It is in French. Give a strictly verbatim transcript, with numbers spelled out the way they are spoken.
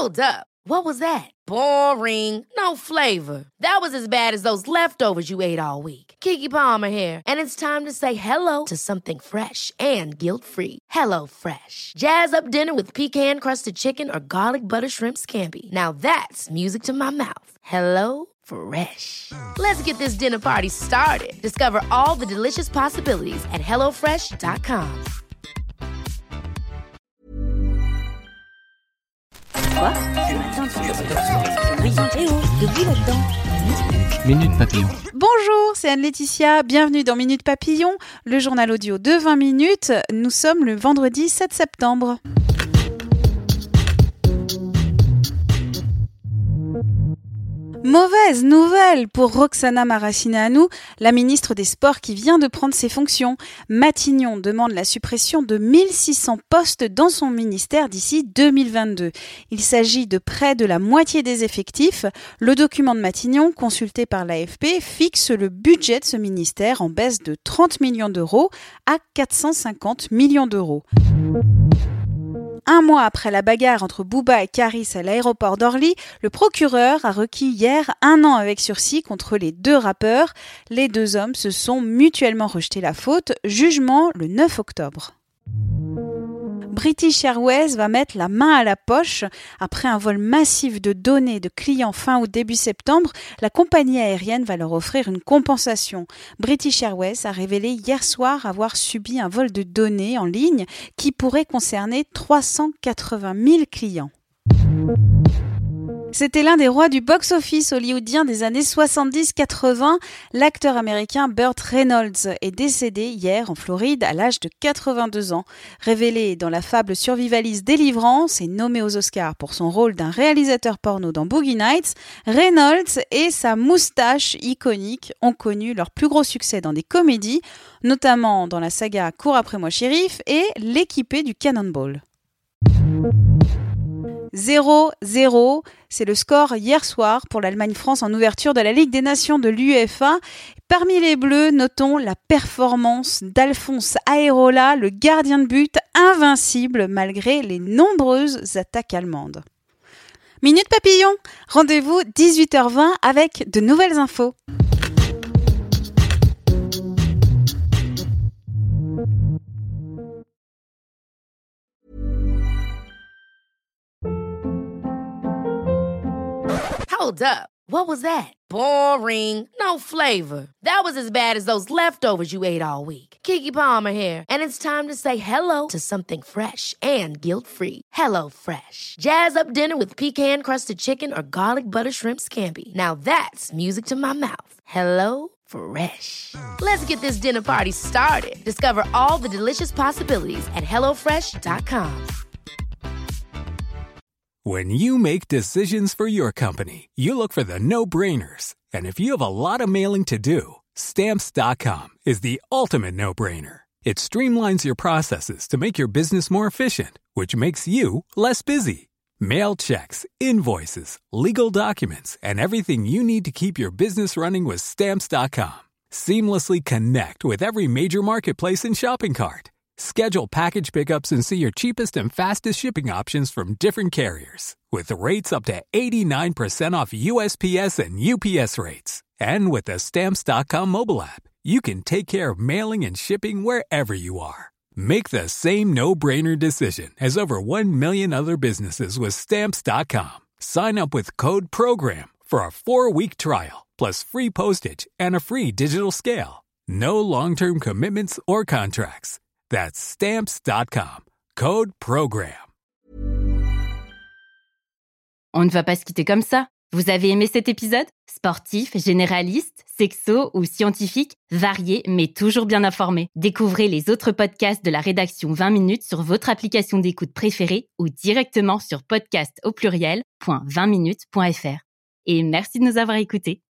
Hold up. What was that? Boring. No flavor. That was as bad as those leftovers you ate all week. Keke Palmer here, and it's time to say hello to something fresh and guilt-free. Hello Fresh. Jazz up dinner with pecan-crusted chicken or garlic butter shrimp scampi. Now that's music to my mouth. Hello Fresh. Let's get this dinner party started. Discover all the delicious possibilities at hello fresh dot com. Quoi ? Ce matin, tu oui, eh oh, de bruit là-dedans. Minute Papillon. Bonjour, c'est Anne-Laetitia, bienvenue dans Minute Papillon, le journal audio de vingt minutes. Nous sommes le vendredi sept septembre. Mauvaise nouvelle pour Roxana Maracineanu, la ministre des Sports qui vient de prendre ses fonctions. Matignon demande la suppression de mille six cents postes dans son ministère d'ici deux mille vingt-deux. Il s'agit de près de la moitié des effectifs. Le document de Matignon, consulté par l'A F P, fixe le budget de ce ministère en baisse de trente millions d'euros à quatre cent cinquante millions d'euros. Un mois après la bagarre entre Booba et Karis à l'aéroport d'Orly, le procureur a requis hier un an avec sursis contre les deux rappeurs. Les deux hommes se sont mutuellement rejeté la faute. Jugement le neuf octobre. British Airways va mettre la main à la poche. Après un vol massif de données de clients fin août début septembre, la compagnie aérienne va leur offrir une compensation. British Airways a révélé hier soir avoir subi un vol de données en ligne qui pourrait concerner trois cent quatre-vingt mille clients. C'était l'un des rois du box-office hollywoodien des années soixante-dix quatre-vingts. L'acteur américain Burt Reynolds est décédé hier en Floride à l'âge de quatre-vingt-deux ans. Révélé dans la fable survivaliste Délivrance et nommé aux Oscars pour son rôle d'un réalisateur porno dans Boogie Nights, Reynolds et sa moustache iconique ont connu leur plus gros succès dans des comédies, notamment dans la saga Cours après moi shérif et L'équipé du Cannonball. zéro zéro, c'est le score hier soir pour l'Allemagne-France en ouverture de la Ligue des Nations de l'UEFA. Parmi les Bleus, notons la performance d'Alphonse Areola, le gardien de but invincible malgré les nombreuses attaques allemandes. Minute Papillon, rendez-vous dix-huit heures vingt avec de nouvelles infos. Hold up. What was that? Boring. No flavor. That was as bad as those leftovers you ate all week. Keke Palmer here, and it's time to say hello to something fresh and guilt-free. Hello Fresh. Jazz up dinner with pecan-crusted chicken or garlic butter shrimp scampi. Now that's music to my mouth. Hello Fresh. Let's get this dinner party started. Discover all the delicious possibilities at hello fresh dot com. When you make decisions for your company, you look for the no-brainers. And if you have a lot of mailing to do, Stamps dot com is the ultimate no-brainer. It streamlines your processes to make your business more efficient, which makes you less busy. Mail checks, invoices, legal documents, and everything you need to keep your business running with Stamps dot com. Seamlessly connect with every major marketplace and shopping cart. Schedule package pickups and see your cheapest and fastest shipping options from different carriers. With rates up to eighty-nine percent off U S P S and U P S rates. And with the Stamps dot com mobile app, you can take care of mailing and shipping wherever you are. Make the same no-brainer decision as over one million other businesses with Stamps dot com. Sign up with code PROGRAM for a four-week trial, plus free postage and a free digital scale. No long-term commitments or contracts. That's Stamps dot com. Code PROGRAM. On ne va pas se quitter comme ça. Vous avez aimé cet épisode ? Sportif, généraliste, sexo ou scientifique, varié mais toujours bien informé. Découvrez les autres podcasts de la rédaction vingt minutes sur votre application d'écoute préférée ou directement sur podcast au pluriel point vingt minutes point f r. Et merci de nous avoir écoutés.